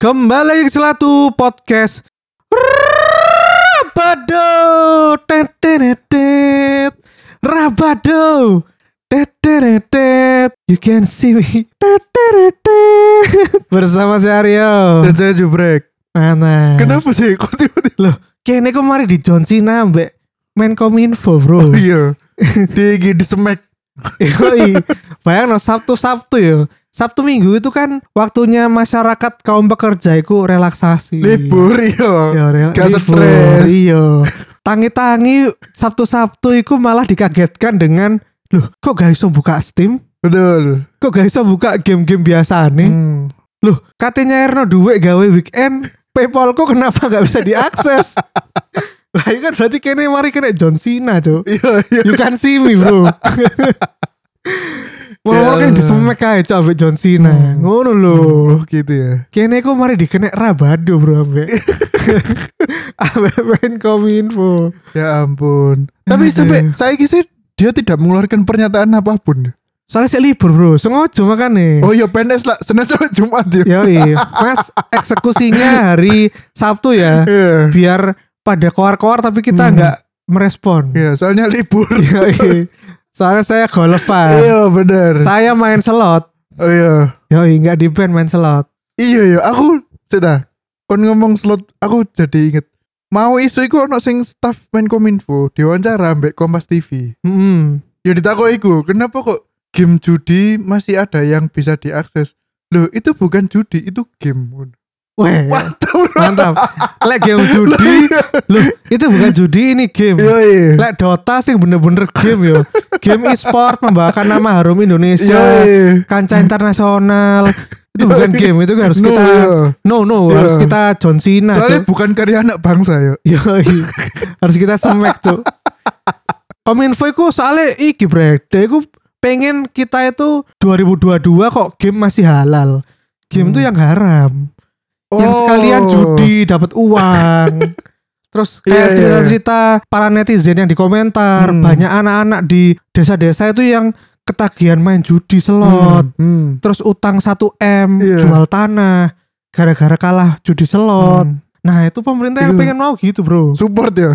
Kembali ke Selatu Podcast Rabado tetetetet Rabado tetetetet You can see me tetetetet Bersama saya Aryo dan saya Jubrek. Mana? Kenapa sih kok tiba-tiba? Loh, kayaknya kok mari di John Cena mbak Menkominfo bro. Oh iya. Di semek. Yoi, bayang no Sabtu ya. Sabtu Minggu itu kan waktunya masyarakat kaum pekerja itu relaksasi. Libur iya. Ya, Gak libur, stres. iya. Tangi-tangi Sabtu iku malah dikagetkan dengan loh kok gak iso buka Steam? Betul. Kok gak iso buka game-game biasa nih? Loh katanya Erno duit gawe weekend Paypalku kenapa gak bisa diakses? Lah ini kan berarti kene mari kena John Cena cok. Iya. You can see me bro. Mau kan disemek aja cok ambek John Cena. Ngono lho. Oh gitu ya. Kene kok mari dikena Rabado bro ambek. Ambek Menkominfo. Ya ampun. Tapi sampai saya sih dia tidak mengeluarkan pernyataan apapun. Soalnya saya libur bro, sengaja makanya. Oh iya PNS lah, Senin sampai Jumat ya. Yoi, mas eksekusinya hari Sabtu ya. Iya. Biar pada koar-koar tapi kita nggak merespon. Iya, soalnya libur. Yoi. Soalnya saya golfan. Iya benar. Saya main slot. Oh iya. Yoi, nggak di band main slot. Iya, aku sudah. Kon ngomong slot, aku jadi inget. Mau isu iku ono sing staff Menkominfo diwawancara ambek Kompas TV. Ya ditakoi iku, kenapa kok game judi masih ada yang bisa diakses? Loh, itu bukan judi, itu game. Weh, Mantap. mantap. Lek game judi, loh itu bukan judi ini game. Yoi. Lek Dota sih bener-bener game yo. Game e-sport membawakan nama harum Indonesia, Yoi. kancah internasional. Itu bukan game, itu harus kita harus kita John Cena. Soalnya Cuk. bukan karya anak bangsa ya. Yoi. Harus kita semek tuh. Kominfo itu soalnya iki brek, dia itu pengen kita itu 2022 kok game masih halal. Game tuh yang haram. Yang sekalian judi dapat uang. Terus kayak cerita-cerita para netizen yang di komentar, banyak anak-anak di desa-desa itu yang ketagihan main judi slot. Terus utang 1M jual tanah gara-gara kalah judi slot. Nah itu pemerintah yang pengen mau gitu bro. Support ya.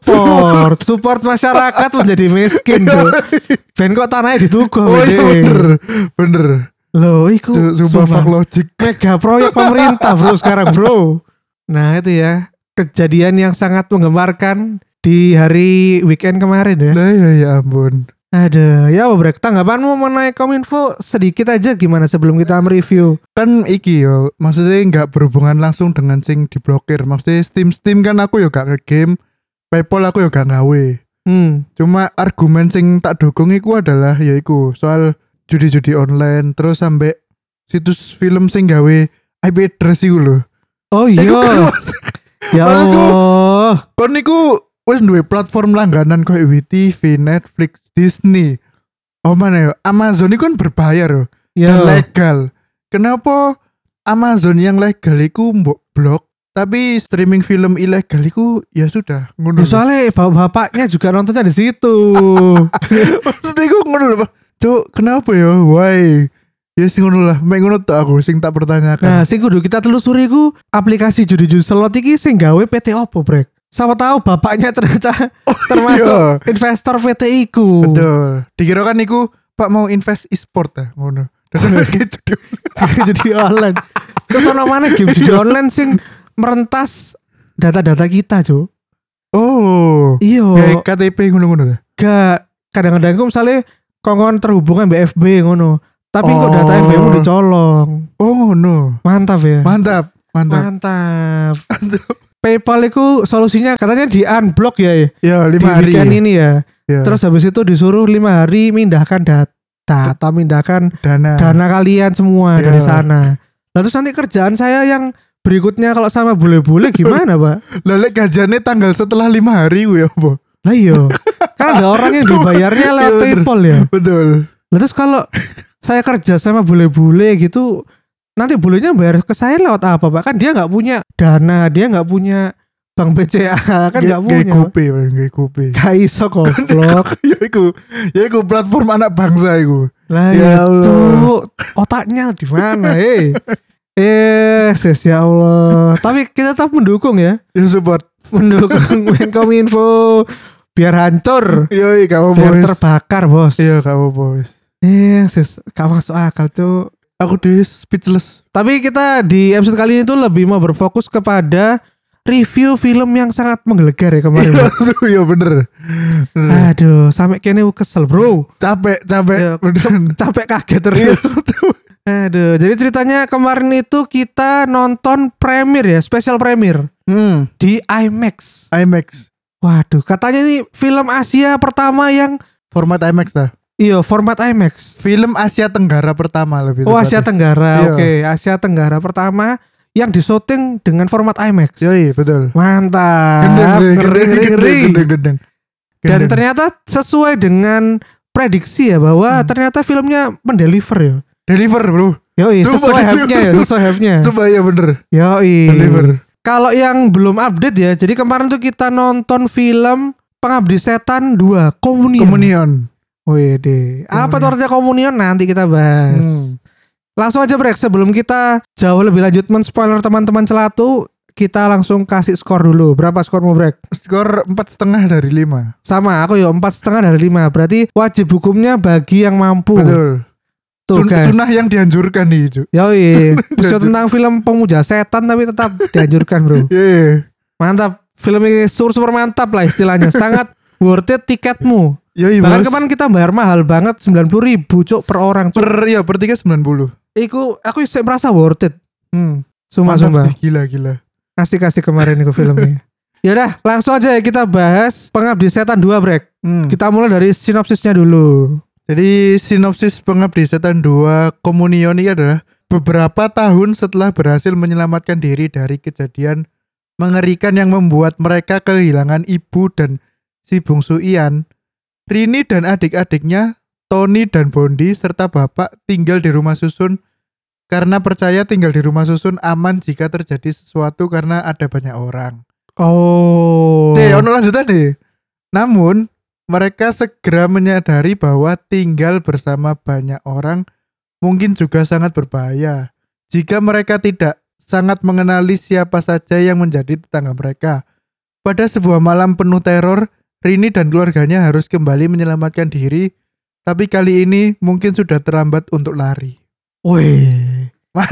Support masyarakat menjadi miskin bro. Ben kok tanahnya dituku. Oh iya bener. Loh iku Sumpah fuck logic. mega proyek pemerintah bro sekarang bro. Nah itu ya kejadian yang sangat menggemarkan di hari weekend kemarin ya. Nah ya ampun. Ada ya Brek, tanggapanmu mengenai Kominfo sedikit aja gimana sebelum kita mereview? Kan iki yo, maksudnya nggak berhubungan langsung dengan sing diblokir. Maksudnya Steam kan aku yo gak nge-game, PayPal aku yo gak gawe. Cuma argumen sing tak dukung iku adalah yaiku soal judi-judi online terus sampai situs film sing gawe IP address iku lho. Oh iya. Ya Allah. Kon niku wis duwe platform langganan koyo WeTV, Netflix, Disney. Oh mana ya? Amazon itu kan berbayar loh. Ya. Dan legal. Kenapa Amazon yang legal iku mbok blok, tapi streaming film ilegal iku ya sudah ngono. Soalnya bapaknya juga nontonnya di situ. Maksudnya iku ngono lho. Cuk, kenapa ya? Why? Ya sing ngono lah, mek ngono tok aku sing tak pertanyakan. Nah, sing kudu kita telusuri ku aplikasi judi-judi slot iki sing gawe PT opo, Brek? Siapa tahu bapaknya ternyata termasuk investor PT iku. Betul. Dikira kan iku Pak mau invest e-sport ya, ngono. Judi online. Terus ono mana game judi online sing merentas data-data kita, Cuk. Oh. Iya. Kayak KTP ngono-ngono ya. Gak, kadang-kadang ku misalnya kongkon terhubungan BFB ngono. Tapi kok data FB-mu dicolong. Oh no. Mantap ya. Mantap. PayPal itu solusinya katanya di unblock ya. Ya 5 di hari. weekend ini ya. Terus habis itu disuruh 5 hari mindahkan data atau mindahkan dana kalian semua dari sana. Lalu terus nanti kerjaan saya yang berikutnya kalau sama bule-bule gimana Pak? Lalu gajiannya tanggal setelah 5 hari ya apa? Lah iya. Kan ada orang yang dibayarnya lewat PayPal ya. Betul. Lalu terus kalau saya kerja sama bule-bule gitu, nanti bulenya bayar ke saya lewat apa Pak? Kan dia gak punya dana, dia gak punya bank BCA, kan gak punya. Gak kopi. Gak iso goblok. Ya iku platform anak bangsa iku. Lah ya Allah. Otaknya di mana Sis ya Allah. Tapi kita tetap mendukung ya. Ya support. Mendukung Menkominfo biar hancur. Yoi, kamu Biar bos. terbakar, Bos. Iya, kamu bos. Sis, gak masuk akal, Cuk. Aku di speechless. Tapi kita di episode kali ini tuh lebih mau berfokus kepada review film yang sangat menggelegar ya kemarin. Iya bener. Aduh, sampai kene kesel, Bro. Capek. Ya, Bener. Capek kaget terus. Aduh, jadi ceritanya kemarin itu kita nonton premiere ya, special premiere di IMAX. IMAX. Waduh, katanya ini film Asia pertama yang Format IMAX dah. format IMAX. Film Asia Tenggara pertama lebih Oh, tepatnya. Asia Tenggara. Iya. Oke, Asia Tenggara pertama yang disyuting dengan format IMAX. Yoi, betul. Mantap. Ngeri. Gendeng. Dan ternyata sesuai dengan prediksi ya bahwa ternyata filmnya mendeliver ya. deliver bro. Yoi, Coba sesuai deliver. hype-nya ya, sesuai hype-nya. Coba ya bener. Yoi. Deliver. Kalau yang belum update ya, jadi kemarin tuh kita nonton film Pengabdi Setan 2 Komunion. Wede. Apa tuh artinya komunion? Nanti kita bahas. Langsung aja Brek, sebelum kita jauh lebih lanjut men-spoiler teman-teman Celatu, kita langsung kasih skor dulu. Berapa skormu Brek? Skor 4,5 dari 5. Sama, aku ya 4,5 dari 5. Berarti wajib hukumnya bagi yang mampu. Betul. Tuh guys. Sunnah yang dianjurkan nih itu. Yoi, episode tentang film pemuja setan tapi tetap dianjurkan bro. Iya. Mantap, film ini super mantap lah istilahnya. Sangat worth it tiketmu. Yoi Bahkan bos. kemarin kita bayar mahal banget 90.000 cuk per orang. Cuk. Per 3 90. Aku merasa worth it. Sumpah. Mantap sih, gila. Kasih kemarin itu filmnya. Yaudah, langsung aja ya kita bahas Pengabdi Setan 2 Brek. Kita mulai dari sinopsisnya dulu. Jadi sinopsis Pengabdi Setan 2 Komunion ini adalah beberapa tahun setelah berhasil menyelamatkan diri dari kejadian mengerikan yang membuat mereka kehilangan ibu dan si bungsu Ian, Rini dan adik-adiknya Tony dan Bondi serta bapak tinggal di rumah susun karena percaya tinggal di rumah susun aman jika terjadi sesuatu karena ada banyak orang. Oh. Ono lanjutan nih. Namun mereka segera menyadari bahwa tinggal bersama banyak orang mungkin juga sangat berbahaya jika mereka tidak sangat mengenali siapa saja yang menjadi tetangga mereka. Pada sebuah malam penuh teror, Rini dan keluarganya harus kembali menyelamatkan diri, tapi kali ini mungkin sudah terlambat untuk lari. Wih,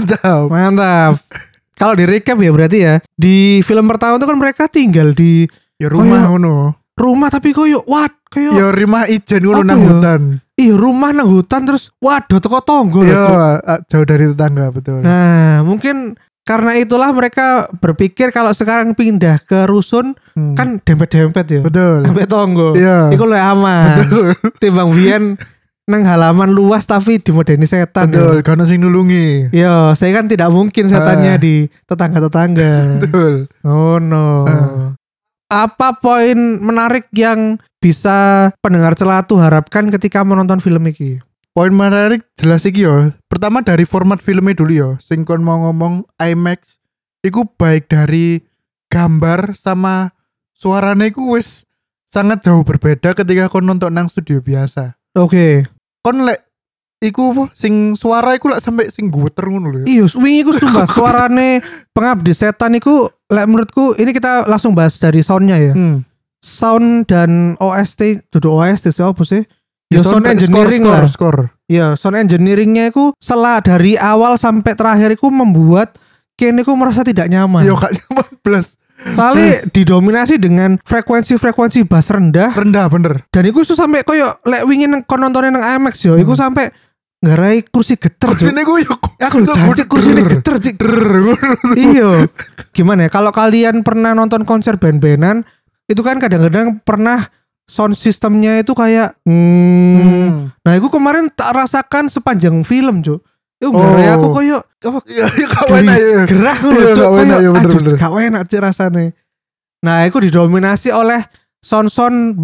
mantap. Kalau di recap ya berarti ya, di film pertama itu kan mereka tinggal di rumah ngono. Rumah tapi kayak rumah ijen ngono apa nang ya? hutan. Iya, rumah nang hutan terus waduh teko tonggo loh, Cuk. Jauh dari tetangga, betul. Nah, mungkin karena itulah mereka berpikir kalau sekarang pindah ke rusun kan dempet-dempet ya. Betul. Sampai tonggo. Iya. Iku lebih aman. Betul. Timbang biyen nang halaman luas tapi dimodeni setan. Betul, karena sing nulungi. Yo, saya kan tidak mungkin setannya di tetangga-tetangga. Betul. Oh no. Apa poin menarik yang bisa pendengar Celatu harapkan ketika menonton film ini? Poin menarik jelas iki yo. Pertama dari format filmnya dulu yo. Sing kon mau ngomong IMAX iku baik dari gambar sama suaranya iku wis sangat jauh berbeda ketika kon nonton nang studio biasa. Oke. Kon lek iku sing suara iku lek sampai sing gueter ngono lho. Iya, wingi iku sumpah suarane Pengabdi Setan iku lek menurutku ini kita langsung bahas dari soundnya ya. Sound dan OST, duduk OST sih apa sih? Ya sound engineering lah. Skor. Ya, sound engineeringnya iku dari awal sampai terakhir iku membuat Ken iku merasa tidak nyaman. Yo gak nyaman blas. Soalnya didominasi dengan frekuensi bass rendah. Rendah bener. Dan iku sampai koyo lek wingi kon nontonin nang IMAX yo, iku sampai ngarai kursi geter. Kursine ku yo. Aku jancuk kursine geter, Cik. Iya. Gimana ya? Kalau kalian pernah nonton konser band-bandan, itu kan kadang-kadang pernah sound systemnya itu kayak Nah, itu kemarin tak rasakan sepanjang film, Cuk. Itu ngarai aku koyo Ya kawan aja. gerah ngono, Cuk. Bener. Gak enak Cik rasane. Nah, itu didominasi oleh sound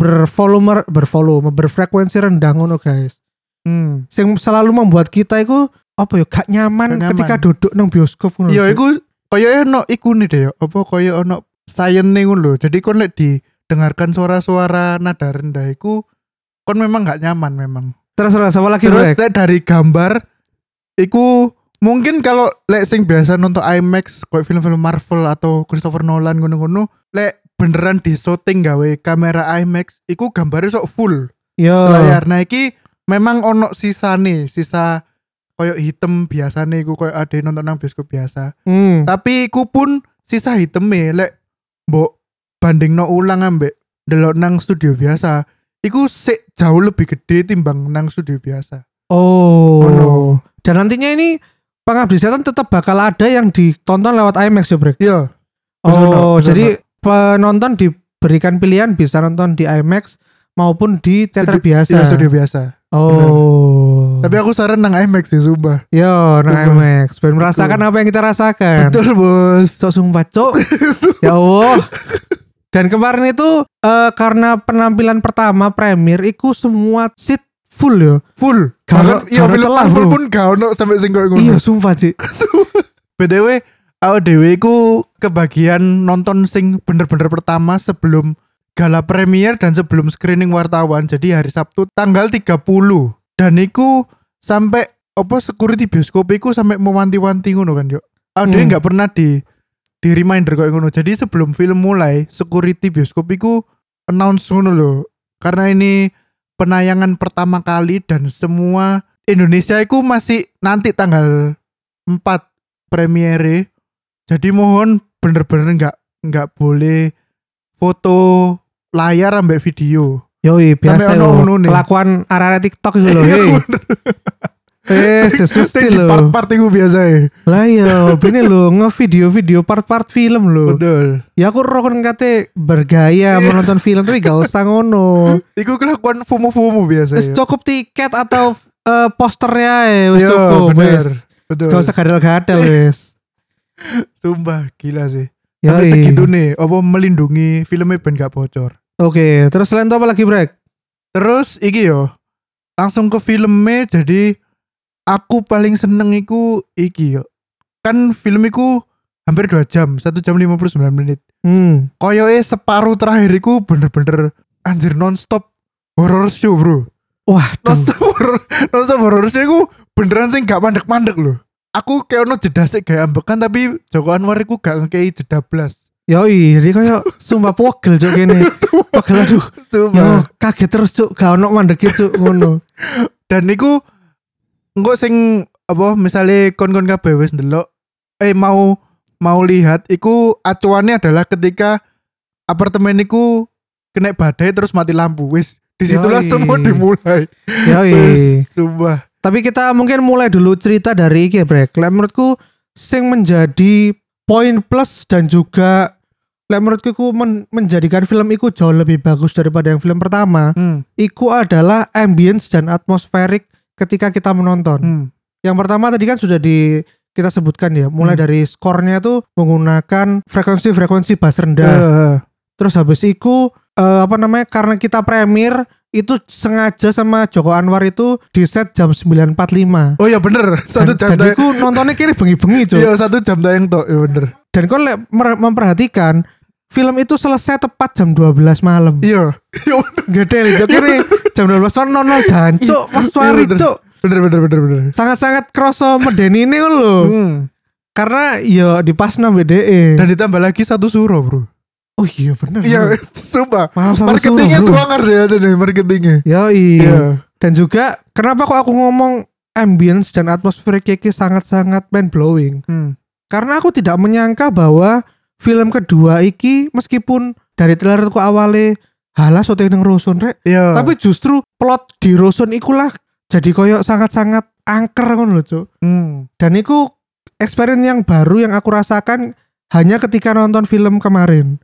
berfrekuensi rendah ngono, guys. Yang selalu membuat kita itu apa ya gak nyaman ketika duduk nang bioskop ngono. Iya, iku koyo ono iku nih deh. Apa koyo ono sayene ngono lho. Jadi kon lek didengarkan suara-suara nada rendah iku kon memang gak nyaman memang. Terus apa lagi? Terus lek dari gambar iku Mungkin kalau lek sing biasa nonton IMAX kayak film-film Marvel atau Christopher Nolan ngono-ngono, lek beneran di shooting gawe kamera IMAX, iku gambarnya sok full Yo. layar. Nah iki memang ono sisa koyo hitam biasane iku koyo ade nonton nang bioskop biasa. Tapi iku pun sisa hiteme lek mbok bandingno ulang ambek delok nang studio biasa, iku sik jauh lebih gede timbang nang studio biasa. Oh. no. Dan nantinya ini Pengabdi Setan tetap bakal ada yang ditonton lewat IMAX ya, Brek? Iya. Oh, jadi penonton diberikan pilihan bisa nonton di IMAX maupun di teater biasa. Iya, studio biasa. Oh. Tapi aku saran nang IMAX sih, sumpah. Yo, nang IMAX. Biar merasakan apa yang kita rasakan. Betul, Bos. Cok sumpah, Cok. Ya Allah. Dan kemarin itu karena penampilan pertama premier iku semua seat full ya. Full. Gak Iya, ono film celah, Marvel bro. pun gak ono sampai sing koyo ngono. Iya, sumpah, Cik. BTW, awake dhewe iku kebagian nonton sing bener-bener pertama sebelum gala premier dan sebelum screening wartawan. Jadi hari Sabtu tanggal 30. Dan iku sampai security bioskop iku sampai mewanti-wanti ngono kan, yo. Awake dhewe gak pernah di reminder koyo ngono. Jadi sebelum film mulai, security bioskop iku announce ngono lho. Karena ini penayangan pertama kali dan semua Indonesia iku masih nanti tanggal 4 premiere. Jadi mohon bener-bener nggak boleh foto layar ambek video. Yoi, biasa Sampai ono yo. nih. Kelakuan arah TikTok itu loh, hei. Sesusti Sing di loh. part-part iku biasa ya. Lah yo, ini lo nge-video part-part film lo. Betul. Ya aku rokon kate bergaya menonton film tapi gak usah ngono. Iku kelakuan FOMO biasa Wis ya. cukup tiket atau posternya ya wis Yo, cukup bener. wis. Betul. Gak usah gadel-gadel wis. Sumpah gila sih. Ya Sampai segitu nih, melindungi filmnya ben gak bocor. Oke, terus selain itu apa lagi, Brek? Terus iki yo, langsung ke filmnya. Jadi aku paling seneng iku iki yo. Kan film iku hampir 2 jam, 1 jam 59 menit. Koyoke separuh terakhir iku bener-bener anjir non-stop horror show, bro. Wah, Non-stop horror show iku beneran sing gak mandek-mandek loh. Aku kayak ono jeda sik gak ambekan, tapi Joko Anwar iku gak ngekei jeda blas. Yoi, jadi kayak sumpah pogel cok gini. Pogel aduh. Yo kaget terus cok, gak ono mandek cok ngono. Dan niku engko sing misalnya kon-kon kabeh wis ndelok mau lihat iku acuannya adalah ketika apartemen niku kena badai terus mati lampu. Wis disitulah Yoi. semua dimulai. Yoi. Wis, sumpah. Tapi kita mungkin mulai dulu cerita dari iki ya, Brek. Lek menurutku sing menjadi poin plus dan juga lek menurutku iku menjadikan film iku jauh lebih bagus daripada yang film pertama. Iku adalah ambience dan atmosferik ketika kita menonton. Yang pertama tadi kan sudah kita sebutkan ya, mulai dari skornya tuh menggunakan frekuensi bass rendah. Terus habis itu karena kita premier itu sengaja sama Joko Anwar itu di set jam 9.45. Oh ya bener, 1 jam dan aku nontonnya kira bengi-bengi cuy. Iya 1 jam tayang tok, ya bener. Dan kalau memperhatikan film itu selesai tepat jam 12 malam. Iya. Gede nih, kira jam 12 malam nonton jancuk pas mari cuk. Bener. Sangat-sangat kroso medeni ini lho. Karena ya di pas nang BDE. Dan ditambah lagi 1 suro, bro. Oh iya bener. Iya, sumpah. Maaf, Marketingnya swanger sih ada nih marketingnya. Iya. Dan juga kenapa kok aku ngomong ambience dan atmosfer Kiki sangat-sangat mind blowing. Karena aku tidak menyangka bahwa film kedua iki meskipun dari trailerku awalnya halah syuting ning Rusun rek. Iya. Tapi justru plot di Rusun ikulah jadi koyo sangat-sangat angker ngono lho, Cuk. Dan iku experience yang baru yang aku rasakan hanya ketika nonton film kemarin.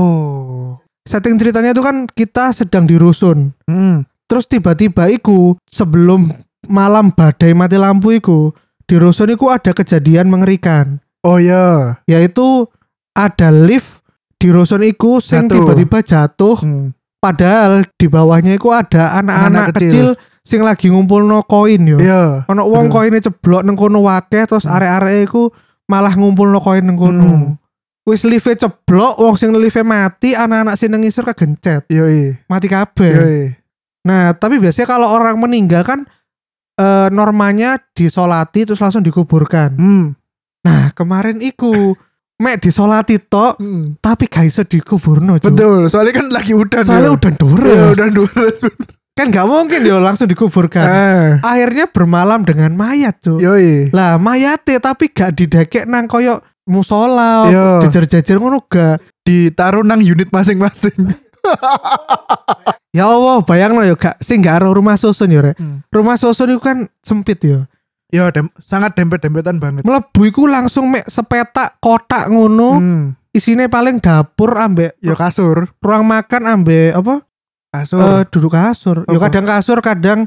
Oh. Setting ceritanya itu kan kita sedang di Rusun. Terus tiba-tiba iku sebelum malam badai mati lampu iku di Rusun iku ada kejadian mengerikan. Oh ya. Yaitu ada lift di Rusun iku sing tiba-tiba jatuh. Padahal di bawahnya iku ada anak-anak kecil sing lagi ngumpulno koin yo. Iya. Ono wong koine ceblok nang kono wakeh terus arek-arek iku malah ngumpulno koin nang kono. Wis live ceblok, wong sing live mati, anak-anak sing nang ngisor kegencet. Yoi. Mati kabeh. Yoi. Nah, tapi biasanya kalau orang meninggal kan normanya disolati terus langsung dikuburkan. Nah, kemarin iku mek disolati tok, tapi gak iso dikuburno. Betul, soalnya kan lagi udan. Soalnya udan deres. Ya, udan deres. Kan gak mungkin dia langsung dikuburkan. Akhirnya bermalam dengan mayat, Cuk. Yoi. Lah, mayate tapi gak didekek nang koyo musola, jejer-jejer ngono gak. Ditaruh nang unit masing-masing. Ya Allah, bayangno ya gak sing gak aro rumah susun ya, Rek. Rumah susun itu kan sempit ya. Ya, sangat dempet-dempetan banget. Mlebu iku langsung mek sepetak kotak ngono. Isine paling dapur ambek ya kasur, ruang makan ambek apa? Kasur. Duduk kasur. Ya kadang kasur, kadang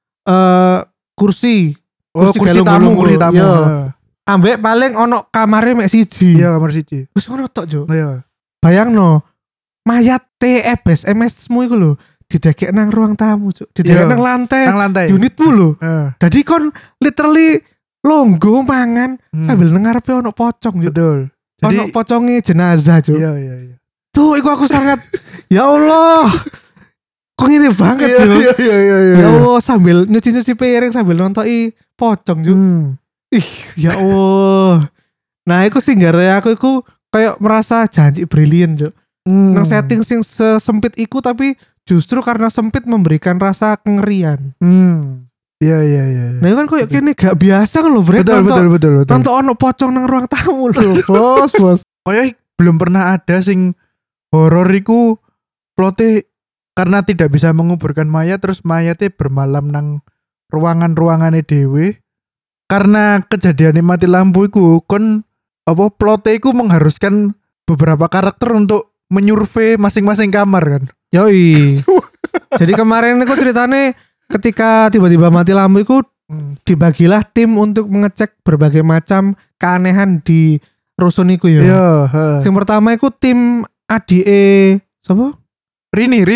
kursi. Kursi tamu. Ya. Ambek paling ono kamare mek siji. Iya, kamar siji. Wis ngono tok, Jo. Iya. Bayangno, mayat TEBS MS-mu iku lho didekek nang ruang tamu, Cuk. Didekek nang lantai. Unitmu lho. Jadi kon literally longgo mangan sambil nengarepe ono pocong, Cuk. Betul. Jadi ono poconge jenazah, Cuk. Iya. Tuh, iku aku sangat ya Allah. Kok ini banget, Cuk. Iya. Ya Allah, sambil nyuci piring sambil nonton pocong, Cuk. Ih, ya Allah. Nah, iku sing gara aku iku kayak merasa janji brilian, Cuk. Nang setting sing sempit iku tapi justru karena sempit memberikan rasa kengerian. Iya. Nah, kan kayak kene gak biasa kan lho, Bre. Betul. Nonton ono pocong nang ruang tamu lho, bos. Kayak belum pernah ada sing horor iku plote karena tidak bisa menguburkan mayat terus mayatnya bermalam nang ruangan-ruangane dhewe. Karena kejadiannya mati lampu iku kon apa plote iku mengharuskan beberapa karakter untuk menyurvei masing-masing kamar kan. Yoi. Jadi kemarin aku ceritane ketika tiba-tiba mati lampu itu dibagilah tim untuk mengecek berbagai macam keanehan di rusun iku ya. Iya, Yang pertama iku tim ADE sapa? Rini.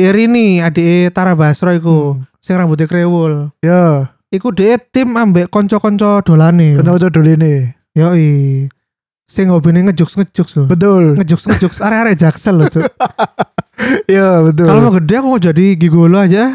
ADE Tara Basro iku. Sing rambutnya krewul. Ya. Iku dia tim ambek konco-konco dolane. Konco-konco dolane. Yoi. Sing hobine ngejuks lho. Betul. Ngejuks arek-arek Jaksel lho, Cuk. Iya, betul. Kalau mau gede aku mau jadi gigolo aja.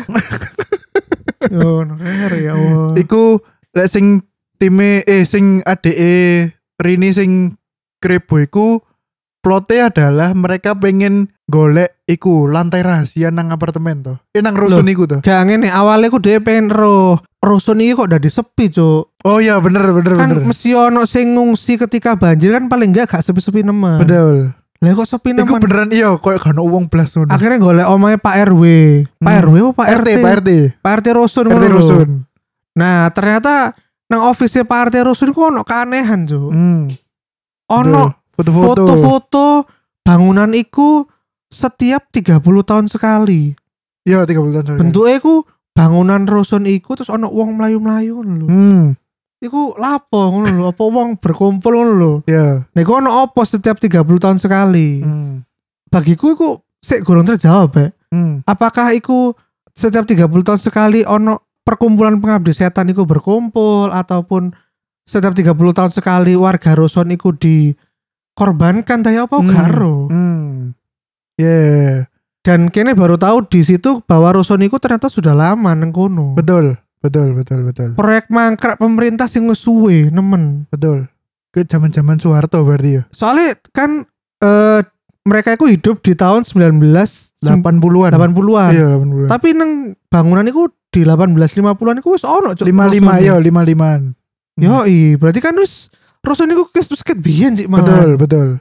Yo, ya Allah. Iku lek sing time sing ADE Rini sing Krebo iku plote adalah mereka pengen golek iku lantai rahasia nang apartemen toh. Nang rusun iku toh. Gak ngene, awalnya aku dhewe pengen rusun iki kok dadi sepi, Cuk. Oh iya, bener. Kan mesti ono sing ngungsi ketika banjir kan paling enggak sepi-sepi nemen. Betul. Lah kok sepi nemen. Iku beneran iya koyo gak ono wong blas ngono. Akhirnya golek omahe Pak RW. Pak RW apa Pak RT? Pak RT rusun ngono. Rusun. Nah, ternyata nang office Pak RT rusun ku ono keanehan, Cuk. Ono foto-foto bangunan iku setiap 30 tahun sekali. Iya, 30 tahun sekali. Bentuknya iku bangunan rusun iku terus ono wong mlayu-mlayu ngono lho. Iku lapo ngono lho, apa wong berkumpul ngono lho. Iya. Nek ono apa setiap 30 tahun sekali. Bagiku iku sik gorong terjawab, Apakah iku setiap 30 tahun sekali ono perkumpulan pengabdi setan iku berkumpul ataupun setiap 30 tahun sekali warga rusun iku dikorbankan tanya apa garo. Yeah. Dan kene baru tahu di situ bahwa rusun iku ternyata sudah lama nang kono. Betul. Proyek mangkrak pemerintah sing wis suwe nemen. Betul. Ke zaman-zaman Soeharto berarti ya. Soalnya kan mereka itu hidup di tahun 1980-an. 80-an. Iya, 80-an. Tapi nang bangunan itu di 1850-an itu wis ono, Cuk. 55 ya, 55-an. Yoi, berarti kan wis rusun iku ket biyen sik malah. Betul.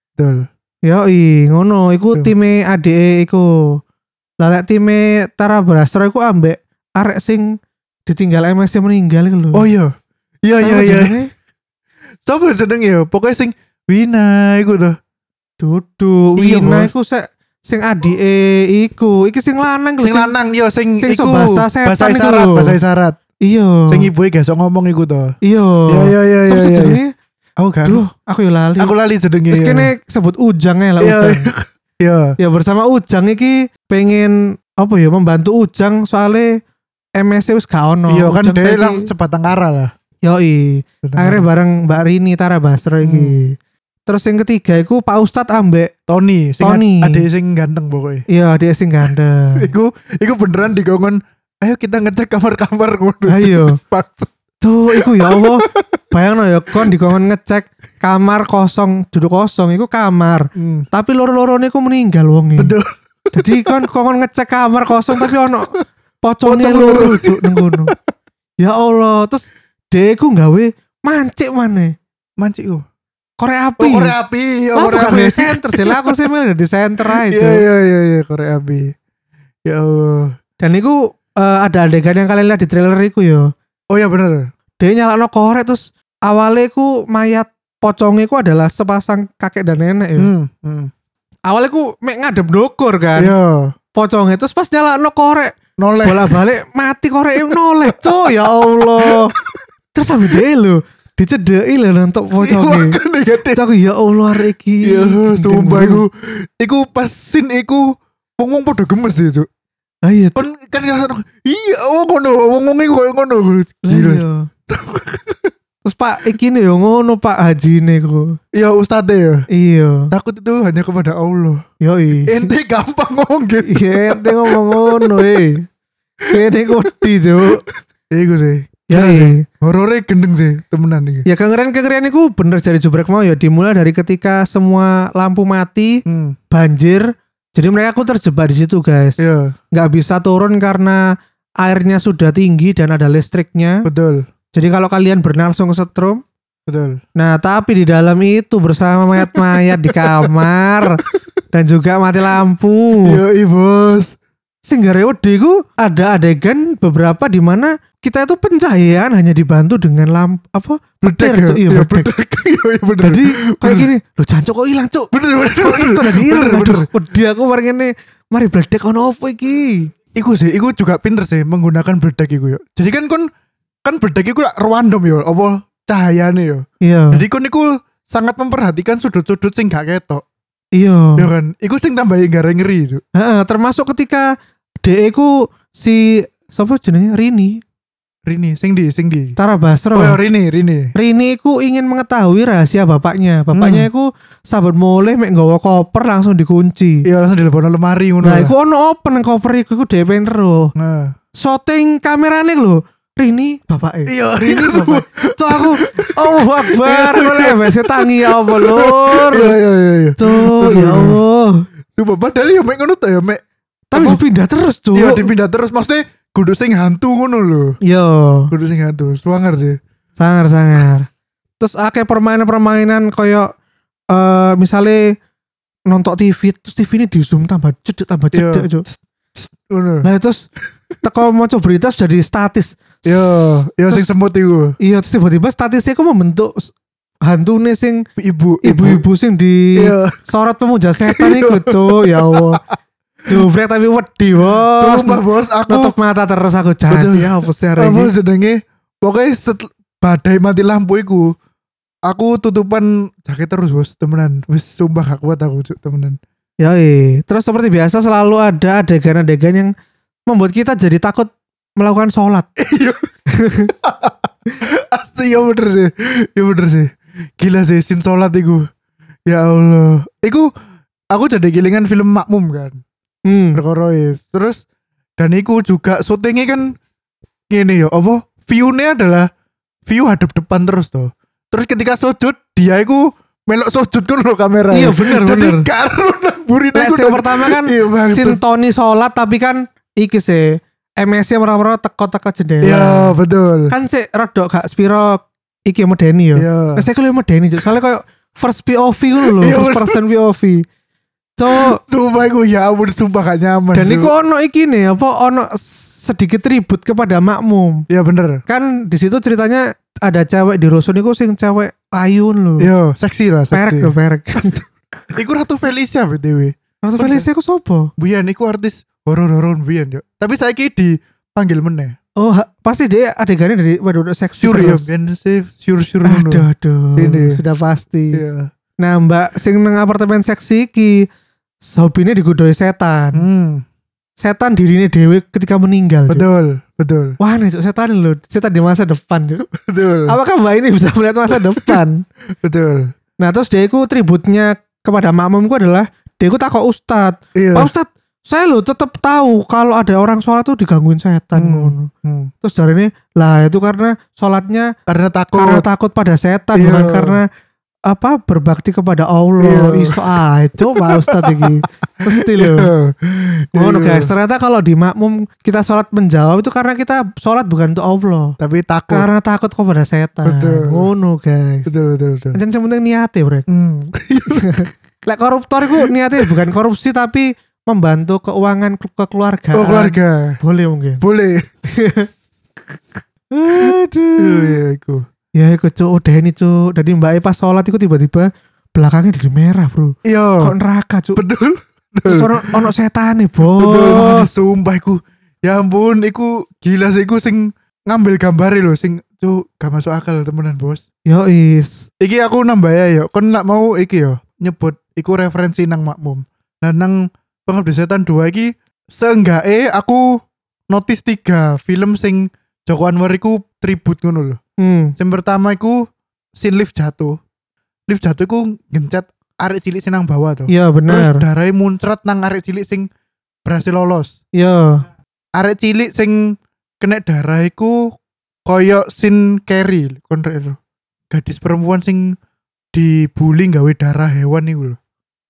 Yoi, ngono iku time ADE iku. Lah lek time Tara Basro iku ambek arek sing ditinggal MS meninggal iku lho. Oh iya. Iya. Sopo jeneng ya? Pokoknya sing Wina iku tuh. Dudu Wina iku sing ADE iku. Iki sing lanang lho. Sing lanang yo sing iku bahasa isyarat. Iya. Sing ibuke gak sok ngomong iku to. Iya. Sopo jenenge? Aku gak. Aku yo lali. Aku lali jenenge. Terus kene sebut Ujang lah Ujang. Iya. Ya bersama Ujang iki pengen apa ya membantu Ujang soalnya MS wis gak ono. Iya kan dia lang sebatang kara lah. Yoi. Akhirnya bareng Mbak Rini Tara Basro iki. Terus yang ketiga iku Pak Ustadz ambek Tony. Ade sing ganteng pokoknya. Iya, ade sing ganteng. Iku beneran digongon ayo kita ngecek kamar-kamar ngono. Ayo. Pas. Tuh, iku ya Allah. Bayangno ya kon dikon ngecek kamar kosong, duduk kosong iku kamar. Tapi loro-lorone iku meninggal wonge. Betul. Jadi kon ngecek kamar kosong tapi ono pocongnya loro juk ning kono. Ya Allah, terus dhek iku gawe mancik maneh. Mancik ku. Korek api. Korek api, ya korek korek api. api center sih lah, aku sih milih di center aja. Iya, korek api. Ya Allah. Dan itu ada adegan yang kalian lihat di trailer itu ya. Oh ya bener. Dia nyalakno korek terus awalnya ku mayat pocongnya ku adalah sepasang kakek dan nenek ya. Awalnya ku mek ngadep dokor kan. Iya. Pocongnya terus pas nyalakno korek Noleh. bolak-balik mati korek yang noleh. Cuk, ya Allah. Terus sampe dia lho dicedeki lho nonton pocongnya. Cuk, ya Allah iki. Ya sumpah iku pas scene iku wong padha gemes ya, Cuk. Ayo kan ngerasa iya ngono wong koyo ngono gila. Terus Pak iki nih yo ngono Pak Hajine ku. Iya ustadz ya. Iya. Takut itu hanya kepada Allah. Yoi. Ente gampang ngomong gitu. Iya ente ngomong ngono kene kodi Cuk. Iku sih. Ya sih. Horornya gendeng sih temenan iki. Ya kengerian iku bener dari Jubrek mau ya dimulai dari ketika semua lampu mati, banjir. Jadi mereka terjebak di situ guys. Iya. Nggak bisa turun karena airnya sudah tinggi dan ada listriknya. Betul. Jadi kalau kalian berenang langsung kesetrum. Betul. Nah tapi di dalam itu bersama mayat-mayat di kamar dan juga mati lampu. Iya bos. Sehingga ku ada adegan beberapa di mana kita itu pencahayaan hanya dibantu dengan lampu apa? Bedek. Iya bedek. Iya bener. Jadi kayak gini, lo jancuk kok hilang cuk. Bener. Itu tadi hilang. Aduh, wedi aku mari ngene. Mari bedek ono opo iki? Iku juga pinter sih menggunakan bedek iku yo. Jadi kan bedek iku random yo, apa cahayane yo. Iya. Jadi iku sangat memperhatikan sudut-sudut sing gak ketok. Iya. Ya kan, iku sing tambahin ngeri. Heeh, termasuk ketika DE ku si siapa jenenge Rini, sing di. Tara Basro. Oh, Rini. Rini ku ingin mengetahui rahasia bapaknya. Bapaknya ku sahabat mulai mek nggawa koper langsung dikunci. Iya, langsung dilebokno lemari ngono. Nah, iku ono open koper iku DE pengen ero. Nah, Shooting kamerane lho. Rini bapake. Iya, Rini bapak. Cuk aku Allahu Akbar oleh wis tangi ya Allah lur. Iya. Cuk ya Allah. Coba padahal ya mek ngono ta ya mek. Tapi dipindah terus cuk. Iya, dipindah terus maksudnya kudu sing hantu ngono lho. Iya. Kudu sing hantu. Sangar sih. Sangar. Terus akeh permainan koyo misalnya nonton TV terus TV ini di zoom tambah cedek cuk. Ngono. Nah terus teko maca berita sudah di statis. Yo sing semut iku. Iya terus tiba-tiba statisnya aku membentuk hantune sing ibu-ibu sing di sorot pemuja setan iku cuk ya Allah. Jubrek tapi wedi bos. Sumpah bos aku nutup mata terus aku janji ya apa sih hari ini. Apa sedenge pokoknya badai mati lampu iku aku tutupan jaket terus bos temenan. Wis sumpah gak kuat aku cuk temenan. Yoi. Terus seperti biasa selalu ada adegan-adegan yang membuat kita jadi takut melakukan sholat. Asli ya bener sih. Gila sih sin sholat iku. Ya Allah. Iku aku jadi gilingan film Makmum kan. Berkorois. Terus dan iku juga syutingnya kan gini ya apa view-nya adalah view hadap depan terus tuh. Terus ketika sujud dia iku melok sujud kan lo kamera. Iya bener. Jadi karo namburi yang pertama kan sintoni sholat tapi kan iki sih MS-nya merah-merah teko-teko jendela. Iya betul. Kan sih rodok gak spiro iki medeni yo. Nah saya kalau medeni soalnya kayak first POV dulu loh, first person POV. Sumpah iku ya ampun sumpah gak nyaman. Dan iku ono iki nih apa ono sedikit tribut kepada Makmum. Iya bener. Kan di situ ceritanya ada cewek di Rusun iku sing cewek ayun loh. Iya, seksi lah, seksi. Perek. Iku Ratu Felicia BTW. Ratu Felicia iku sopo? Biyen iku artis horor-horor biyen yo. Tapi saiki dipanggil meneh. Oh, pasti dia adegannya dari waduh seksi sure, terus. Sure ngono. Aduh. Sudah pasti. Iya. Nah, Mbak sing nang apartemen seksi iki hobine digodoi setan. Setan dirinya dewe ketika meninggal. Betul. Wah, nih setan loh. Setan di masa depan. Betul. Apakah Mbak ini bisa melihat masa depan? Betul. Nah, terus dia itu tributnya kepada Makmumku adalah dia itu takut Ustadz. Iya. Pak Ustadz, saya loh tetap tahu kalau ada orang sholat tuh digangguin setan ngono. Terus dari ini lah itu karena sholatnya Karena takut pada setan, Iya. bukan karena apa berbakti kepada Allah. Iya. Iso coba Ustadz iki. Mesti loh. Ngono Iya. guys, ternyata kalau di makmum kita sholat menjawab itu karena kita sholat bukan untuk Allah, Tapi takut. karena takut kepada setan. Betul. Ngono guys. Betul. Jangan yang penting niatnya bro. Lek koruptor itu niatnya bukan korupsi tapi membantu keuangan kekeluargaan. Oh keluarga. Boleh mungkin. Boleh. Aduh. Iya iku. Ya iku cuk, udah ini cuk. Jadi Mbak E pas sholat itu tiba-tiba belakangnya jadi merah bro. Iya. Kok neraka cuk. Betul. Terus ono setan nih bos. Betul. Makanya sumpah iku. Ya ampun, iku gila sih iku sing ngambil gambar lho sing cuk gak masuk akal temenan bos. Yo is. Iki aku nambah ya yo. Kon nak mau iki yo nyebut iku referensi nang makmum. Nah nang Pengabdi Setan 2 iki seenggake aku notice 3 film sing Joko Anwar iku tribute ngono lho. Yang pertama iku scene lift jatuh. Lift jatuh iku gencet arek cilik sing nang bawah tuh. Iya Terus benar. darahnya muncrat nang arek cilik sing berhasil lolos. Iya. Arek cilik sing kena darah iku koyo scene Carrie kon gadis perempuan sing dibully gawe darah hewan iku lho.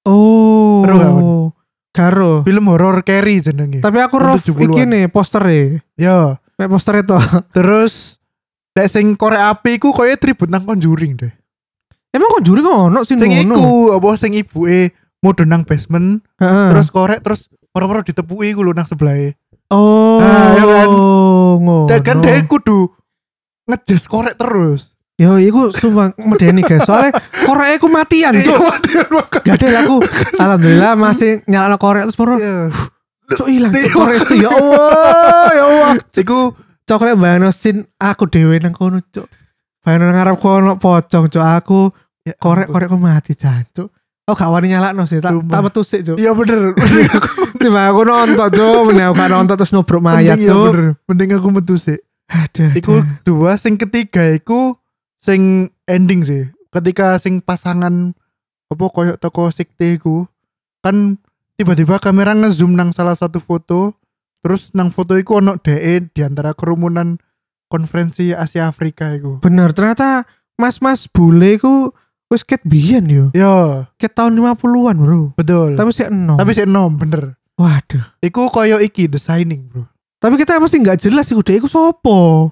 Oh. Seru gak, Wan? Karo. Film horor Carrie jenenge. Tapi aku roh 70-an. iki nih poster Ya, Mek poster itu. terus lek sing korek api iku koyo tribute nang Conjuring deh. Emang kok juri ngono sih Sing ngono. iku apa sing ibuke mudhun nang basement Heeh. terus korek terus moro-moro ditepuki iku lho nang sebelahe. Oh. Nah, ya kan. Ngono. Dan kan dia kudu ngejes korek terus. Yo iku sumpah medeni guys. Soalnya korek aku matian, Cuk. Gak ada aku. Alhamdulillah masih nyala korek terus baru Iya. cuk hilang Cuk, korek itu. Ya Allah, ya Allah. Iku Coklat bayangno sin aku dhewe nang kono, Cuk. Bayangno ngarep kono pocong, Cuk. Aku korek-korekku mati, Cuk. Oh gak wani nyalakno sih, tak metu sik, Cuk. iya bener. Tiba aku nonton, Cuk. Mending aku gak nonton terus nubruk mayat, Mending iya Cuk. bener. Mending aku metu sih. Aduh. Iku 2, sing ketiga iku sing ending sih. Ketika sing pasangan apa koyo toko sekte iku kan tiba-tiba kamera ngezoom nang salah satu foto, terus nang foto iku ono DE di antara kerumunan konferensi Asia Afrika iku. Bener, ternyata mas-mas bule iku wis ket biyen yo. Yo, Ket tahun 50-an, Bro. betul. Tapi sih enom. Tapi sih enom bener. Waduh. Iku koyo iki The Shining, Bro. Tapi kita mesti nggak jelas iku dhek iku sopo.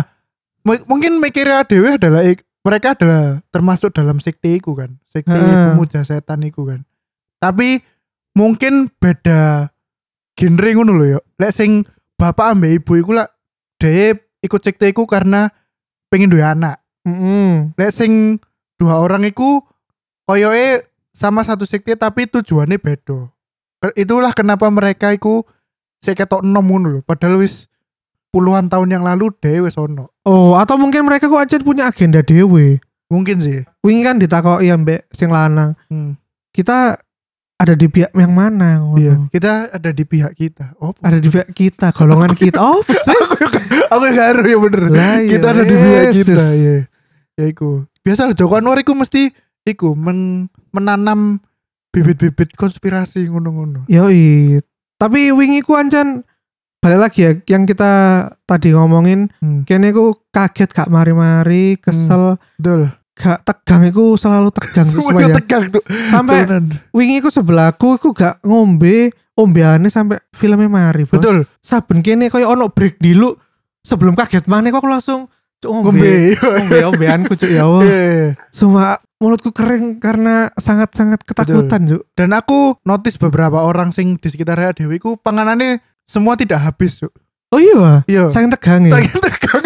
Mungkin mikirnya dewe adalah mereka adalah termasuk dalam sekte iku kan. Sekte Heeh. pemuja setan iku kan. Tapi mungkin beda genre ngono lho yo. Lek sing bapak ambek ibu iku lah dhewe ikut sekte iku karena pengen duwe anak. Lek sing 2 orang iku koyoke sama satu sekte tapi tujuannya beda. Itulah kenapa mereka iku sik ketok enom ngono lho. Padahal wis puluhan tahun yang lalu dhewe wis ono. Oh, atau mungkin mereka kok aja punya agenda dewe. Mungkin sih. Wingi kan ditakoki ambek sing lanang. Kita ada di pihak yang mana ngono. Iya, kita ada di pihak kita. Oh, Ada di pihak kita, golongan kita. Oh, sih. aku gak ya bener. Lah, iya, Kita ada di pihak yes, kita, ya. Ya iku. Biasa Joko Anwar iku mesti iku menanam bibit-bibit konspirasi ngono-ngono. Yoi. Tapi wingi ku ancan balik lagi ya yang kita tadi ngomongin, kene ku kaget gak mari-mari, kesel, Betul. gak tegang iku selalu tegang Semuanya supaya tegang tuh. sampai Tenan. wingi ku sebelahku iku gak ombeane sampai filmnya mari. Bos. Betul. Saben kene koyo ono break dulu sebelum kaget maneh kok aku langsung cuk Ngombe. ombeanku cuk ya Allah. Iya. Semua mulutku kering karena sangat-sangat ketakutan cuk. Dan aku notice beberapa orang sing di sekitar Dewi ku panganannya semua tidak habis, Cuk. Oh iya, Iya. saking tegang ya. Saking tegang.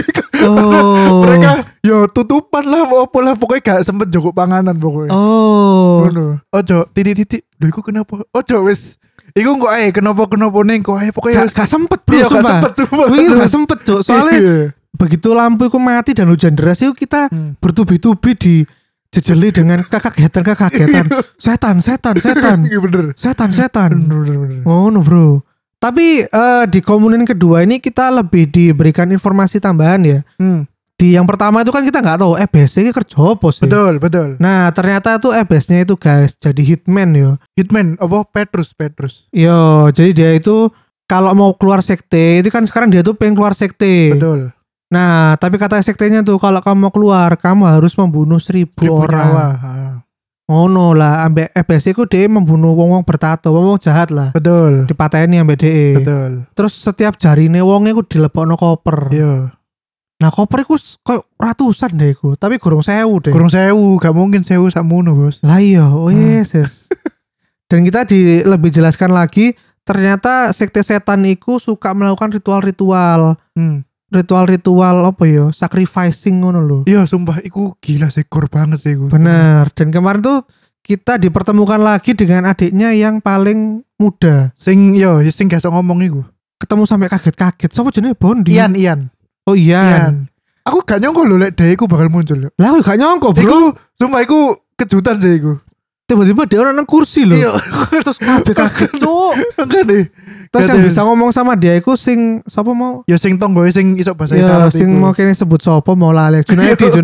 Oh. Mereka yo tutupan lah mau apa lah pokoknya gak sempet jogok panganan pokoknya. Oh. Ngono. Ojo titik-titik. Lho iku kenapa? Ojo wis. Iku kok ae kenapa ning kok ae pokoknya Gak sempet bro, iya, gak sumpah. sempet sumpah. Wingi gak sempet cuk. Soalnya Iya. begitu lampu iku mati dan hujan deras itu kita bertubi-tubi di jejeli dengan kekagetan. Setan. Iya bener. Setan. Bener. Oh no bro. Tapi di komunen kedua ini kita lebih diberikan informasi tambahan ya. di yang pertama itu kan kita nggak tahu EBS ini kerja apa sih. Betul. Nah ternyata tuh EBS-nya itu guys jadi hitman yo. Hitman apa Petrus. Yo, jadi dia itu kalau mau keluar sekte itu kan sekarang dia tuh pengen keluar sekte. Betul. Nah tapi kata sektenya tuh kalau kamu mau keluar kamu harus membunuh 1.000 orang. Nyawa. Oh no lah, ambek EBS itu dia membunuh wong bertato, wong jahat lah. Betul. Dipateni ambek DE. Betul. Terus setiap jarine wonge ku dilebokno koper. Iya. Nah koper iku koyo ratusan deh iku, tapi gurung 1.000 deh. Kurang 1.000, gak mungkin 1.000 sakmono, Bos. Lah iya, yes. Dan kita lebih jelaskan lagi, ternyata sekte setan iku suka melakukan ritual-ritual. Ritual-ritual apa ya? Sacrificing ngono lho. Iya, sumpah iku gila sih, gur banget sih iku. Bener. Dan kemarin tuh kita dipertemukan lagi dengan adiknya yang paling muda. Sing gak iso ngomong iku. Ketemu sampai kaget-kaget. Siapa jenenge Bondi? Ian. Oh Ian. Aku gak nyongko lho lek dhek iku bakal muncul lho. Lah aku gak nyongko, Bro. Iku sumpah iku kejutan sih iku. Tiba-tiba dia orang nang kursi lho. Iya. Terus kabeh kaget, Cuk. Makane. Terus yang bisa ngomong sama dia iku sing sapa mau? Ya sing tonggoe sing iso bahasa Ya isyarat sing iku. mau kene sebut sapa mau lali. Junaidi.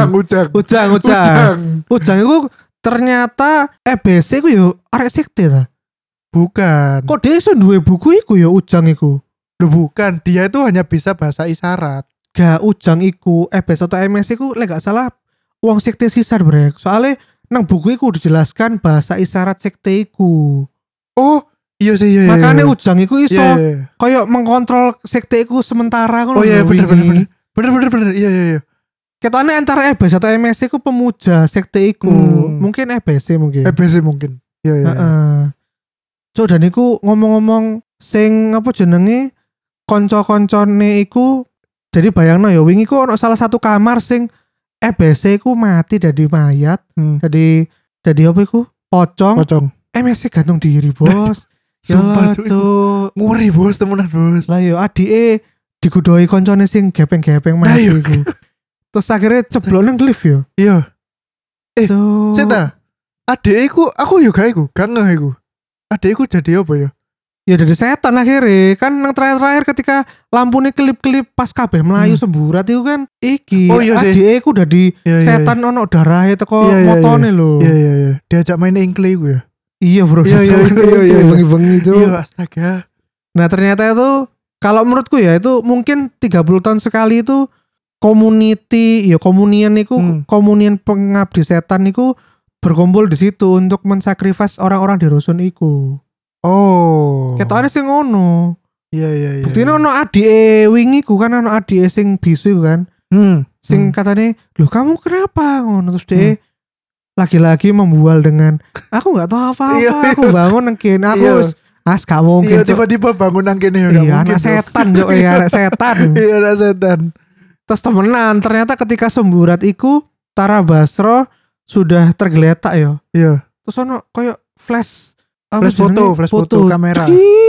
Ujang iku ternyata EBC iku yo arek sekte ta. Bukan. Kok dia iso duwe buku iku ya Ujang iku? Loh, bukan, dia itu hanya bisa bahasa isyarat. Gak Ujang iku EBS atau MS iku lek gak salah wong sekte sisar brek. Soalnya nang buku iku dijelaskan bahasa isyarat sekte iku. Oh, iya sih iya. Makanya Ujang iku iso iya. koyo mengkontrol sekte iku sementara ngono. Oh iya bener. Iya. Ketane antara EBS atau MS iku pemuja sekte iku. Mungkin EBS mungkin. EBS mungkin. Iya. Heeh. So dan iku ngomong-ngomong sing apa jenenge konco-koncone iku jadi bayangno ya wingi ku ono salah satu kamar sing EBS iku mati dari mayat. Jadi apa iku? Pocong. MS gantung diri, Bos. Sumpah tuh. Ngeri, Bos, temenan, Bos. Lah yo adike digudoi koncone sing gepeng-gepeng mati iku. Terus akhirnya ceblok nang lift yo. Iya. Seta. Adikku aku yo gak ngeh iku. Adikku jadi apa ya? Ya dari setan akhirnya kan yang terakhir ketika lampunya kelip-kelip pas kabeh melayu semburat itu kan iki adikku udah di setan ono darahnya teko motone lho. Iya. Diajak main engkle iku ya. Iya bro. Iya bengi-bengi itu. Iya astaga. Nah ternyata itu kalau menurutku ya itu mungkin 30 tahun sekali itu komunian iku komunian pengabdi setan iku berkumpul di situ untuk mensakrifas orang-orang di rusun iku. Oh. Ketokane sing ngono. Iya. Buktine ono adike wingi ku kan ono adike sing bisu iku kan. Sing katane, "Loh kamu kenapa?" ngono terus dia lagi-lagi membual dengan aku enggak tahu apa-apa. Aku bangun nang kene aku gak mungkin. Iya tiba-tiba bangun nang kene ya. Iya anak setan yo anak setan. Iya anak setan. Terus temenan ternyata ketika semburat iku Tara Basro sudah tergeletak ya. Iya. Terus ono koyo flash foto kamera.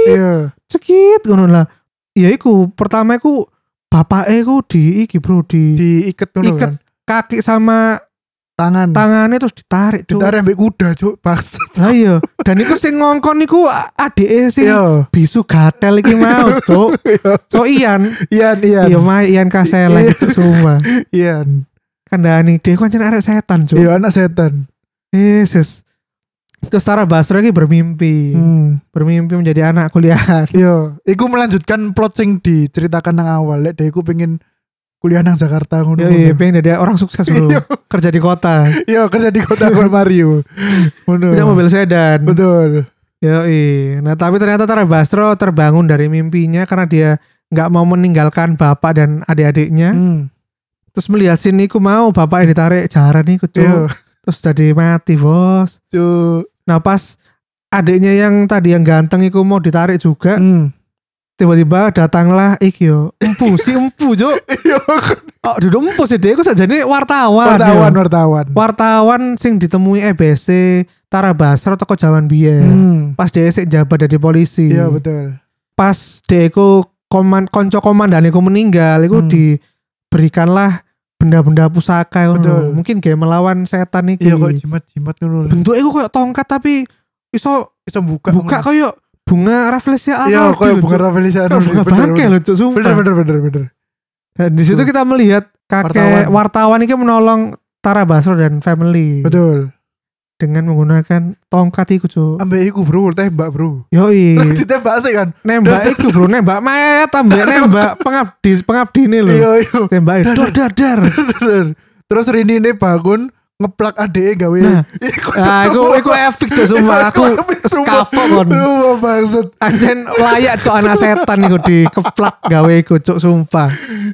Cekit ngono lah. Ya iku pertama iku bapake iku diikat ngono kan. Kaki sama tangannya terus ditarik ambek kuda cuk pas. Lah iya. Dan iku sing ngongkon iku adike sing bisu gatel iki mau cuk. So Ian. Iya Ian Kasela itu semua. Ian. Kandhani dia kan arek setan cuk. Iya anak setan. Yesus. Terus Tara Basro lagi bermimpi menjadi anak kuliah. Iya, iku melanjutkan plot sing diceritakan nang awal. Lek iku pengen kuliah nang Jakarta ngono. Iya, pengen jadi orang sukses dulu. Kerja di kota. Iya, kerja di kota Mario. Ngono. Punya mobil sedan. Betul. Nah, tapi ternyata Tara Basro terbangun dari mimpinya karena dia enggak mau meninggalkan bapak dan adik-adiknya. Terus melihat sini ku mau bapaknya ditarik jaran nih kucuk. Terus jadi mati, Bos. Nah pas adiknya yang tadi yang ganteng itu mau ditarik juga, tiba-tiba datanglah iki yo empu jo. Oh duduk empu sih dia, aku sajane wartawan sing ditemui EBC Tara Basro toko zaman biyen. Pas dia sik jabat dari polisi. Iya betul. Pas dia iku konco komandan iku meninggal, iku diberikanlah benda-benda pusaka ngono. Mungkin kayak melawan setan iki. Iya kok jimat ngono. Bentuknya iku kayak tongkat tapi iso buka kayak bunga rafflesia. Iya kayak bunga rafflesia. Bunga bangke lho cuk sumpah. Bener. Dan di situ kita melihat kakek wartawan ini menolong Tara Basro dan family. Betul. Dengan menggunakan tongkat iku, Cuk. Ambek iku, Bro, tembak, Bro. Yoi. Ditembak sih kan. Nembak iku, Bro, nembak mayat ambek nembak pengabdi ini lho. Iya. Tembak dar. Terus Rini ini bangun ngeplak adeke gawe. Iku epic Cuk, sumpah. Aku skafok kon. Maksud Anjen layak Cuk, anak setan iku dikeplak gawe iku, Cuk, sumpah.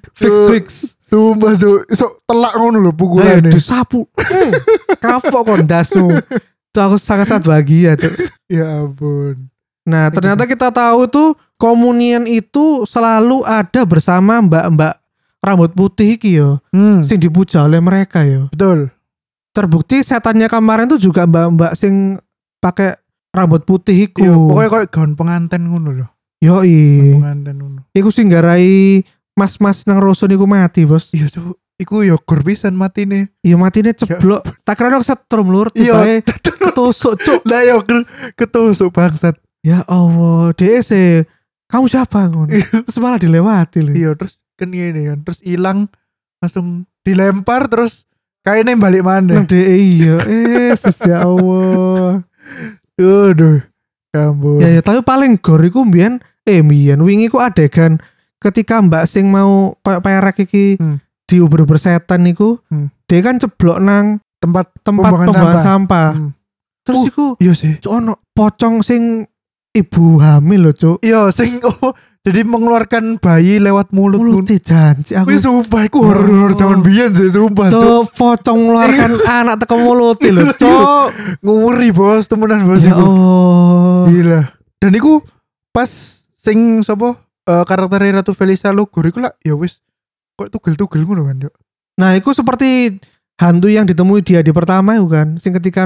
Fix. Sumpah, Cuk. Sok telak ngono lho pukulane. Disapu. Kapok kon dasu. Cuk, aku sangat bahagia, Cuk. Ya ampun. Nah, ternyata kita tahu tuh komunian itu selalu ada bersama mbak-mbak rambut putih iki yo. Sing dipuja oleh mereka yo. Betul. Terbukti setannya kemarin tuh juga mbak-mbak sing pakai rambut putih iku. Iya, pokoknya kayak gaun pengantin ngono loh. Yoi. Pengantin ngono. Iku sing garai mas-mas nang rusun iku mati, Bos. Iya, Cuk. Iku yo gur pisan matine. Iya, matine ceblok. Tak kira kesetrum lur, tibae ketusuk, Cuk. Lah yo ketusuk bangsat. Ya Allah, DC. Kamu siapa ngono? Terus malah dilewati lho. Iya, terus kan gini kan. Terus hilang langsung dilempar terus kayaknya balik mana. Iya, ya Allah. Aduh, kamu. Ya, tapi paling gor iku mbiyen wingi ku adegan ketika Mbak sing mau koyo perek iki diuber-uber setan niku, dia kan ceblok nang tempat pembuangan sampah. Terus iku iya sih. Cuk ono pocong sing ibu hamil lho, Cuk. Iya, sing jadi mengeluarkan bayi lewat mulut. Janji aku. Wih, sumpah iku horor zaman biyen sih, sumpah, Cuk. Pocong mengeluarkan anak teko mulut lho, Cuk. Nguri, Bos, temenan, Bos. Ya Allah. Gila. Dan iku pas sing sapa karakter Ratu Felisa Lugur iku lah ya wis kok tugel-tugel ngono kan, Cuk. Nah, itu seperti hantu yang ditemui dia di pertama itu kan, sing ketika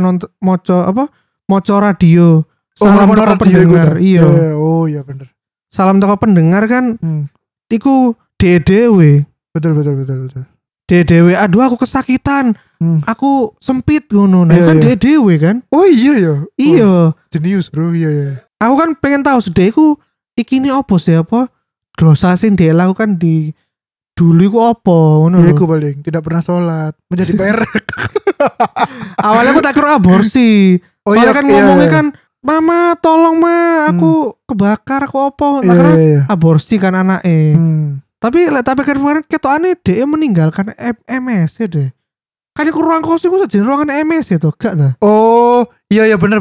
moco radio. Salam toko pendengar. Iya. Oh iya bener. Salam toko pendengar kan. Iku DDW. Betul. DDW. Aduh, aku kesakitan. Aku sempit ngono. Nah, kan DDW kan. Oh iya ya. Iya. Jenius, Bro. Iya. Aku kan pengen tahu sedekku iki ini apa sih apa? Dosa sing dia lakukan di dulu iku apa ngono. Iya, aku paling tidak pernah sholat, menjadi perek. Awalnya aku tak kira aborsi. Oh iya kan ngomongnya kan, "Mama, tolong Ma, aku kebakar, aku apa?" Tak kira aborsi kan anaknya. Tapi kan kemarin ketokane dia meninggalkan MS deh. Kan iku ruang kos iku sajen ruangan MS itu, gak ta? Oh, iya bener.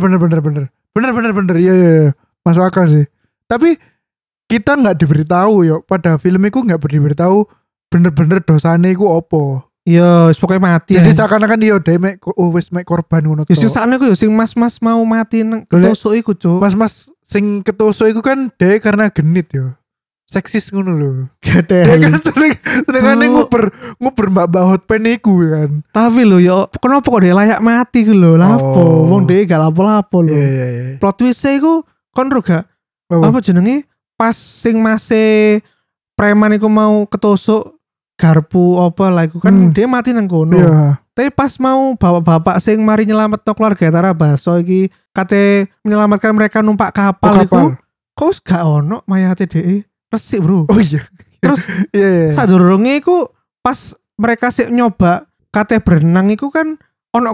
Iya. Masuk akal sih. Tapi kita nggak diberitahu yo, pada film itu nggak diberitahu bener-bener dosane iku opo. Iya, pokoknya mati. Jadi seakan-akan dia wis mek korban ngono to. Yo sakne ku yo sing mas-mas mau mati nang ketusuk iku, Cuk. Mas-mas sing ketusuk iku kan dia karena genit yo. Seksis ngono lho. Gede. Dia kan sering nguber mbak hotpen iku kan. Tapi lho yo, kenapa kok dia layak mati ku lho? Lapo? Wong dia gak lapo-lapo lho. Iya. Plot twist iku kon ro gak? Apa jenenge? Pas sing mase preman iku mau ketusuk garpu apa lah iku kan dia mati nang kono. Iya. Tapi pas mau bapak-bapak sing mari nyelametno keluarga Tara Basro iki kate menyelamatkan mereka numpak kapal iku. Kok gak ono mayate dhek resik, Bro. Oh iya. Terus iya. Sadurunge iku pas mereka sik nyoba kate berenang iku kan ono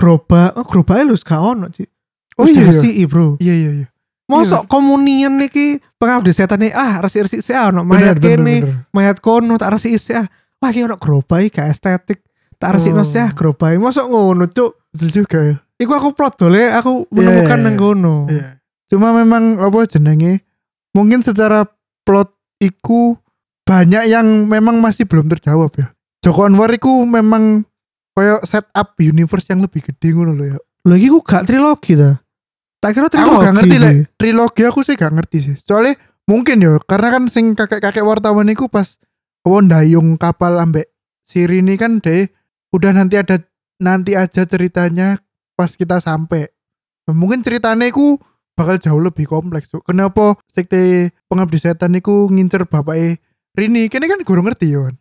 gerobake lho gak ono, Cik. Oh iya sih, Bro. Iya. Mosok komunian iki pengabdi setan resik-resik sih ono mayat kene, mayat kono tak resik sih. Wah, iki ono gerobak gak estetik. Tak resikno sih gerobak. Mosok ngono, Cuk. Betul juga ya. Iku aku plot dole, aku menemukan nang kono. Iya. Cuma memang apa jenenge? Mungkin secara plot iku banyak yang memang masih belum terjawab ya. Joko Anwar iku memang koyo setup universe yang lebih gede ngono lho ya. Lho iki ku gak trilogi ta? Tak kira trilogi. Aku gak ngerti lah. Trilogi aku sih gak ngerti sih. Soalnya mungkin ya karena kan sing kakek-kakek wartawan iku pas ndayung kapal ambek Sirini kan deh udah nanti aja ceritanya pas kita sampai. Mungkin ceritanya iku bakal jauh lebih kompleks tuh. Kenapa sekte pengabdi setan iku ngincer bapaknya Rini? Kene kan gue ngerti ya kan.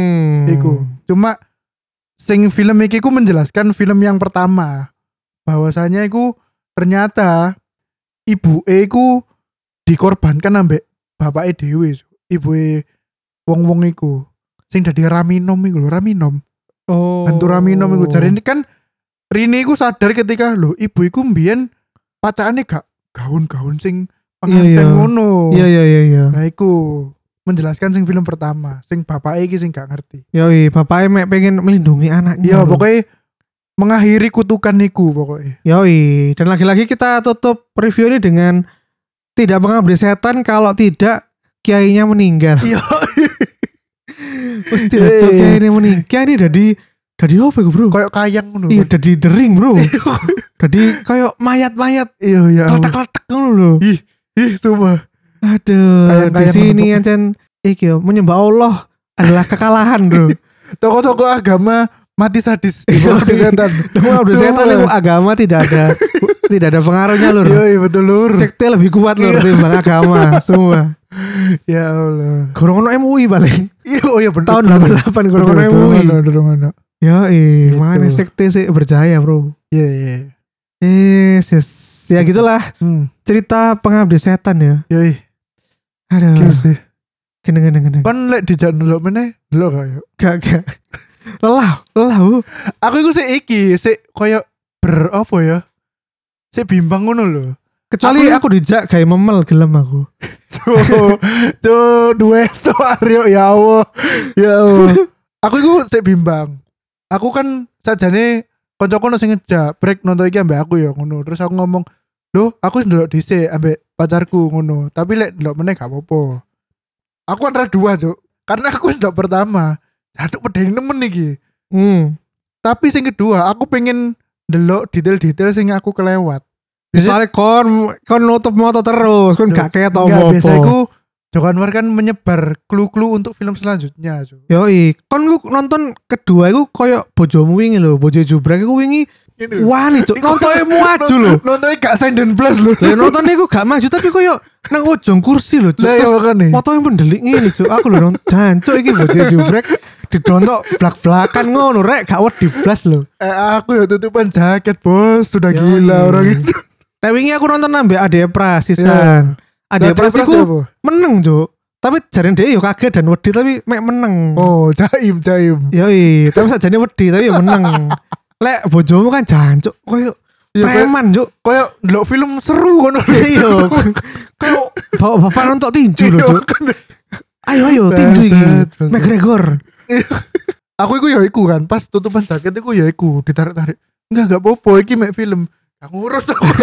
Iku. Cuma sing film iki ku menjelaskan film yang pertama bahwasanya iku ternyata ibu ku dikorbankan ambek bapaknya dewe. Ibu wong-wong iku. sing dadi Raminom iku lho, Raminom. Oh. Hantu Raminom iku jare ini kan Rini iku sadar ketika lho ibu iku mbiyen pacakane gak gaun-gaun sing pengantin ngono. Iya. Nah iku menjelaskan sing film pertama, sing bapake iki sing gak ngerti. Yoi, bapaknya mek pengen melindungi anaknya. Iya, pokoknya mengakhiri kutukan niku pokoknya. Yoi, dan lagi-lagi kita tutup review ini dengan tidak mengabdi setan kalau tidak kiainya meninggal. Iya. Mesti cok kiai ini meninggal. Kiai ini dari apa iku, Bro? Kayak kayang ngono. Iya, dari dering, Bro. Dari kayak mayat-mayat. Iya, ya. Letak-letak ngono lho. Ih, sumpah. Aduh, di sini ancen iki yo menyembah Allah adalah kekalahan, Bro. Tokoh-tokoh agama mati sadis di bawah setan. Mengabdi setan itu agama tidak ada pengaruhnya, Lur. Iya, betul, Lur. Sekte lebih kuat, Lur, timbang agama semua. Ya Allah. Gorong ono MUI paling. Iya bener. Tahun 88 gorong ono MUI. Bener. Ya, Gitu. makanya sekte sih berjaya, Bro. Iya. Yes. Ya gitulah cerita pengabdi setan ya. Yoi. Aduh. Gila sih. Gendeng. Kan lek dijak ndelok meneh, ndelok kayak. Gak. Lelah. Aku iku sik iki, sik koyo apa ya? Sik bimbang ngono lho. Kecuali aku dijak kayak memel gelem aku. Tuh, dua Aryo ya Allah. Aku iku sik bimbang. Aku kan sajane koncoku sing ngejak break nonton iki ambek aku ya ngono. Terus aku ngomong, "Loh, aku ndelok dhisik ambek pacarku ngono. Tapi lek ndelok meneh gak apa-apa." Aku antara dua, Cuk. Karena aku ndelok pertama, satu medeni nemen iki. Tapi sing kedua, aku pengen ndelok detail-detail sing aku kelewat. Misalnya kon nutup moto terus, kon gak kayak tau apa. Biasa iku Joko Anwar kan menyebar clue-clue untuk film selanjutnya. Yoi, kon ku nonton kedua iku koyo bojomu wingi lho, bojo jubrek iku wingi wani cuk, nontonnya maju lho. Nontonnya gak sinden plus lho. Ya nonton iku gak maju tapi koyo nang ujung kursi lho cuk. Lah ya makane. Motonya mendelik ngene cuk, aku lho nonton jancuk iki bojo jubrek didontok blak-blakan ngono rek gak wedi blas lho. Aku ya tutupan jaket, Bos. Sudah gila orang itu. Nah wingi aku nonton ambek Ade Pras sisan. Ade Pras iku meneng, Cuk. Tapi jarene dhewe yo kaget dan wedi tapi mek meneng. Oh, jaim. Yoi, tapi sakjane wedi tapi yo meneng. Lek bojomu kan jancuk koyo preman, Cuk. Koyo ndelok film seru ngono. Iya. Koyo bapak nonton tinju lho, Cuk. Ayo tinju iki. McGregor. Aku iku kan pas tutupan jaket iku ya iku ditarik-tarik. Enggak apa-apa iki mek film. Gak ngurus.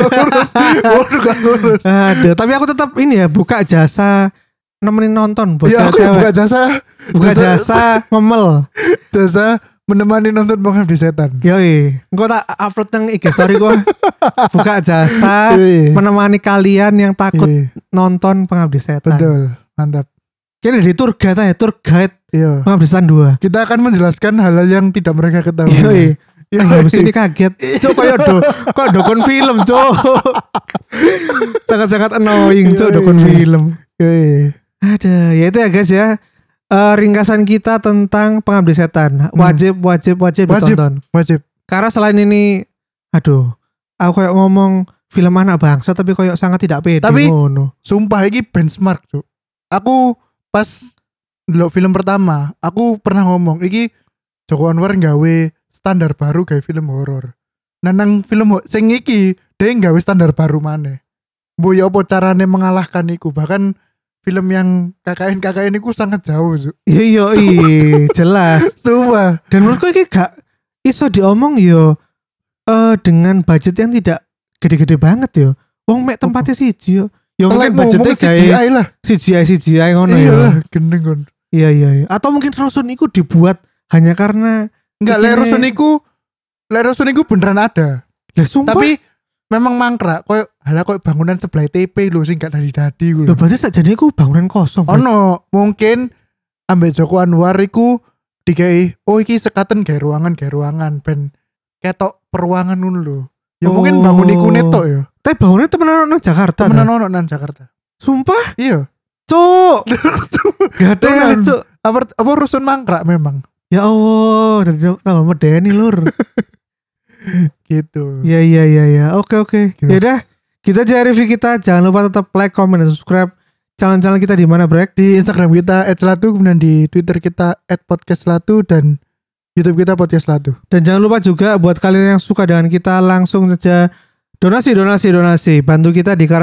Ada, tapi aku tetap ini ya buka jasa nemenin nonton buat ya, aku cewek. buka jasa memel. Jasa menemani nonton Pengabdi Setan. Yoi, engko tak upload nang IG story gua. Buka jasa menemani kalian yang takut nonton Pengabdi Setan. Betul, mantap. Kayaknya di tour guide Iya. Pengabdi Setan 2. Kita akan menjelaskan hal-hal yang tidak mereka ketahui. Yoi. Habis ini kaget. Cuk kayak dokon film, Cuk. Sangat-sangat annoying, Cuk, dokon film. Ada, ya itu ya guys ya. Ringkasan kita tentang Pengabdi Setan. Wajib ditonton. Wajib. Karena selain ini aduh, aku kayak ngomong film anak bangsa tapi kayak sangat tidak pede. Tapi sumpah ini benchmark, Cuk. Aku pas ndelok film pertama, aku pernah ngomong iki Joko Anwar gawe standar baru kayak film horor. Nah nang film sing iki dia gawe standar baru maneh. Mbok ya apa carane mengalahkan iku, bahkan film yang KKN iku sangat jauh, Cuk. Iya, jelas. Sumpah. Dan menurutku iki gak iso diomong yo dengan budget yang tidak gede-gede banget yo. Wong mek tempatnya siji yo. Ya mungkin budgetnya CGI lah. CGI ngono ya. Iyalah, gendeng kon. Iya. Atau mungkin Rosun iku dibuat hanya karena enggak, Rosun iku beneran ada. Lah sumpah. Tapi memang mangkrak koyo bangunan sebelah TP lho sing gak dadi ku Lho lho. berarti sakjane iku bangunan kosong. Ono, mungkin ambek Joko Anwar iku digawe iki sekaten gawe ruangan ben ketok peruangan ngono lho. Ya mungkin bangun iku netok ya. Tapi bangunnya temenan nang Jakarta. Temenan nang Jakarta. Sumpah? Iya. Cuk. Gak ada, Cuk. Apa rusun mangkrak memang. Ya Allah, kalau medeni lur. Gitu. Iya. Oke. Ya udah, kita aja review kita. Jangan lupa tetap like, comment, dan subscribe channel-channel kita di mana, Brek? Di Instagram kita @selatu, kemudian di Twitter kita @podcastselatu dan YouTube kita Podcast Selatu. Dan jangan lupa juga buat kalian yang suka dengan kita langsung saja donasi. Bantu kita di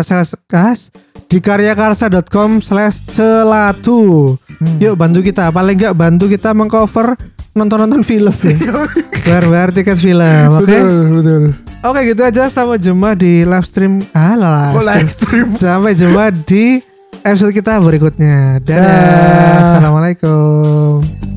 karyakarsa.com/celatu. Yuk bantu kita, paling enggak bantu kita mengcover nonton film ya. Bayar tiket film, oke? Betul. Oke, gitu aja, sampai jumpa di live stream. Live stream. Sampai jumpa di episode kita berikutnya. Dadah. Assalamualaikum.